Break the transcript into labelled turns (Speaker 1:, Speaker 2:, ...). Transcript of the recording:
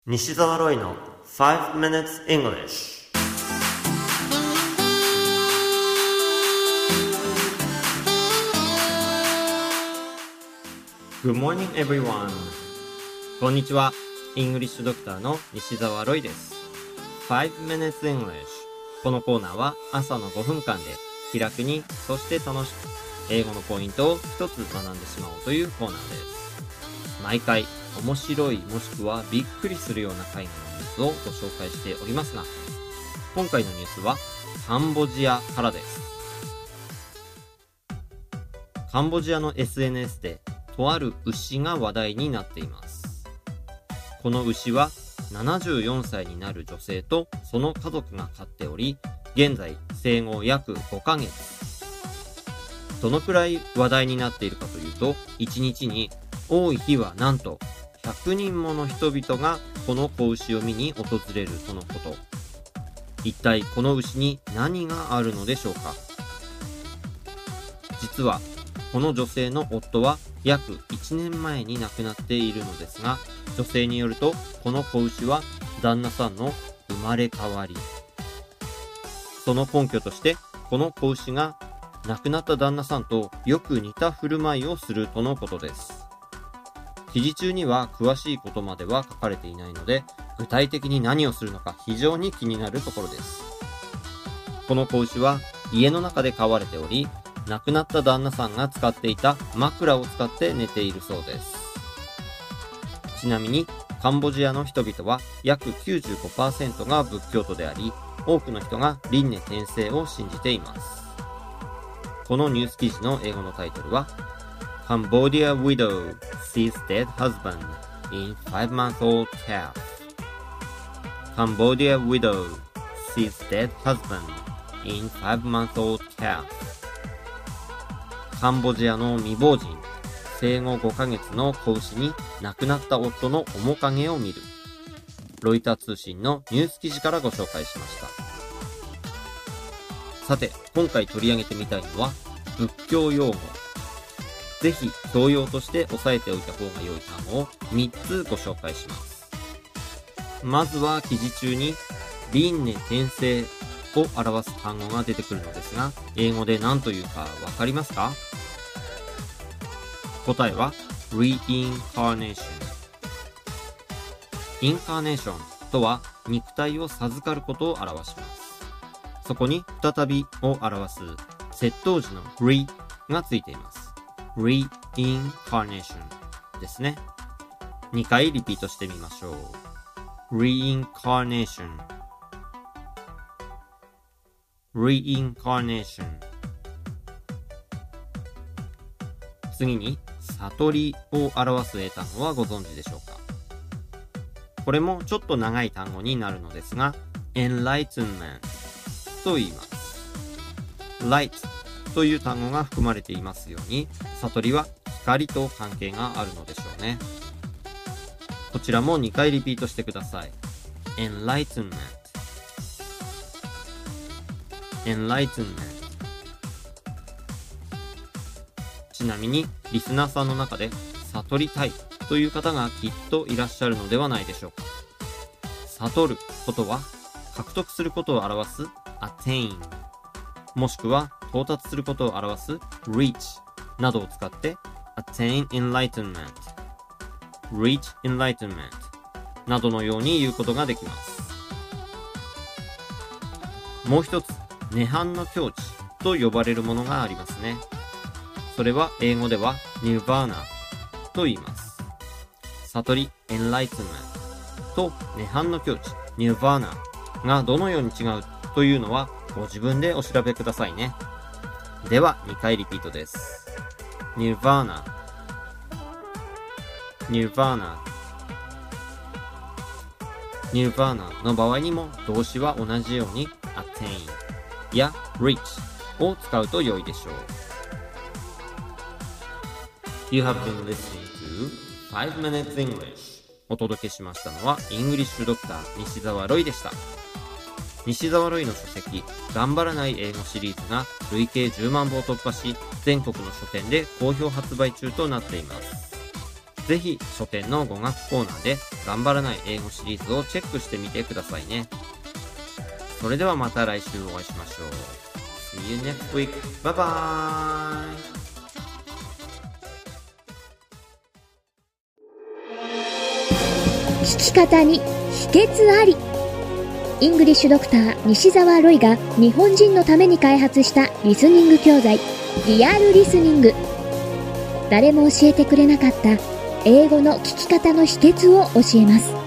Speaker 1: 西澤ロイの5 minutes English。Good morning everyone。 こんにちは。イングリッシュドクターの西澤ロイです。5 minutes English。 このコーナーは朝の5分間で気楽に、そして楽しく英語のポイントを一つ学んでしまおうというコーナーです。毎回面白いもしくはびっくりするような海外のニュースをご紹介しておりますが、今回のニュースはカンボジアからです。カンボジアの SNS でとある牛が話題になっています。この牛は74歳になる女性とその家族が飼っており、現在生後約5ヶ月。どのくらい話題になっているかというと、1日に多い日はなんと100人もの人々がこの子牛を見に訪れるとのこと。一体この牛に何があるのでしょうか。実はこの女性の夫は約1年前に亡くなっているのですが、女性によるとこの子牛は旦那さんの生まれ変わり。その根拠として、この子牛が亡くなった旦那さんとよく似た振る舞いをするとのことです。記事中には詳しいことまでは書かれていないので、具体的に何をするのか非常に気になるところです。この子牛は家の中で飼われており、亡くなった旦那さんが使っていた枕を使って寝ているそうです。ちなみにカンボジアの人々は約 95% が仏教徒であり、多くの人が輪廻転生を信じています。このニュース記事の英語のタイトルは Cambodia widow sees dead husband in 5-month-old calf。 Cambodia widow sees dead husband in 5-month-old calf。 カンボジアの未亡人、生後5ヶ月の子牛に亡くなった夫の面影を見る。ロイター通信のニュース記事からご紹介しました。さて、今回取り上げてみたいのは仏教用語。ぜひ教養として押さえておいた方が良い単語を3つご紹介します。まずは記事中に輪廻転生を表す単語が出てくるのですが、英語で何というかわかりますか？答えは Reincarnation。 インカーネーションとは肉体を授かることを表します。そこに再びを表す接頭辞の re がついています。Reincarnation ですね。2回リピートしてみましょう。Reincarnation Reincarnation。 次に悟りを表す英単語はご存知でしょうか。これもちょっと長い単語になるのですが、 Enlightenment と言います。 Light という単語が含まれていますように、悟りは光と関係があるのでしょうね。こちらも2回リピートしてください。 Enlightenment Enlightenment。 ちなみにリスナーさんの中で悟りたいという方がきっといらっしゃるのではないでしょうか。悟ることは獲得することを表す attain、 もしくは到達することを表す reach などを使って attain enlightenment、 reach enlightenment などのように言うことができます。もう一つ、涅槃の境地と呼ばれるものがありますね。それは英語では nirvana と言います。悟り enlightenment と涅槃の境地 nirvana がどのように違うというのはご自分でお調べくださいね。では2回リピートです。 Nirvana Nirvana Nirvana の場合にも動詞は同じように attain や reach を使うと良いでしょう。 You have been listening to 5 minutes English。 お届けしましたのはイングリッシュドクター西澤ロイでした。西澤ロイの書籍頑張らない英語シリーズが累計10万部を突破し、全国の書店で好評発売中となっています。 ぜひ書店の語学コーナーで頑張らない英語シリーズをチェックしてみてくださいね。それではまた来週お会いしましょう。See you next week. Bye bye.
Speaker 2: 聞き方に秘訣あり。イングリッシュドクター西澤ロイが日本人のために開発したリスニング教材リアルリスニング。誰も教えてくれなかった英語の聞き方の秘訣を教えます。